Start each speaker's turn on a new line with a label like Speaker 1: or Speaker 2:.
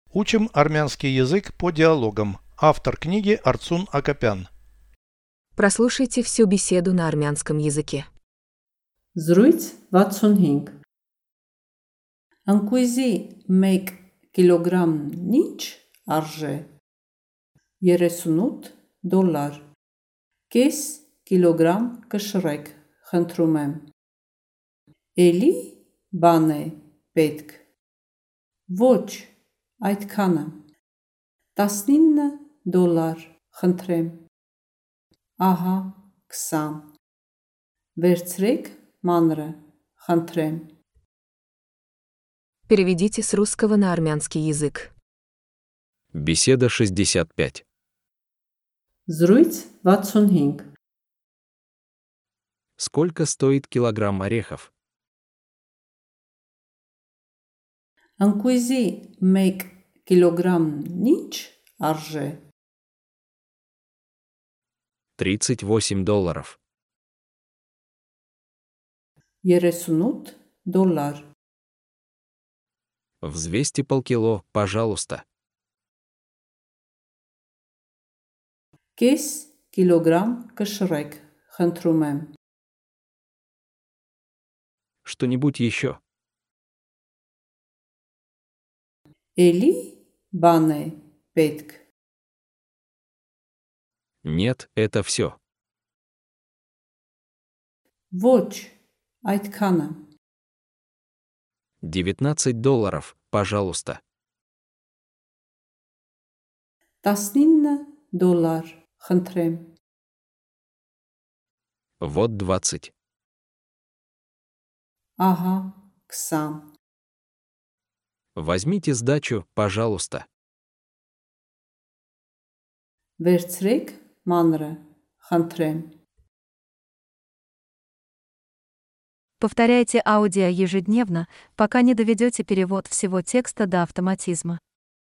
Speaker 1: Учим армянский язык по диалогам. Автор книги Арцун Акопян.
Speaker 2: Прослушайте всю беседу на армянском языке.
Speaker 3: Զրույց 65 Ընկույզի 1 կիլոգրամն ինչ արժե 38 դոլար Կես կիլոգրամ կշռեք, խնդրում եմ Էլի բան է պետք Ոչ, այդքանը 19 դոլար, խնդրեմ Ահա 20 Վերցրեք մանրը, խնդրեմ
Speaker 2: Переведите с русского на армянский язык.
Speaker 4: Беседа 65.
Speaker 3: Զրույց 65
Speaker 4: Сколько стоит килограмм орехов?
Speaker 3: Ընկույզի 1 կիլոգրամն ինչ արժե
Speaker 4: 38 долларов.
Speaker 3: 38 դոլար
Speaker 4: Взвесьте полкило, пожалуйста.
Speaker 3: Կես կիլոգրամ կշռեք, խնդրում եմ
Speaker 4: Что-нибудь еще?
Speaker 3: Էլի բան է պետք
Speaker 4: Нет, это все.
Speaker 3: Ոչ, այդքանը
Speaker 4: 19 долларов, пожалуйста.
Speaker 3: 19 դոլար, խնդրեմ
Speaker 4: Вот 20.
Speaker 3: Ահա 20
Speaker 4: Возьмите сдачу, пожалуйста.
Speaker 3: Վերցրեք մանրը, խնդրեմ
Speaker 5: Повторяйте аудио ежедневно, пока не доведете перевод всего текста до автоматизма.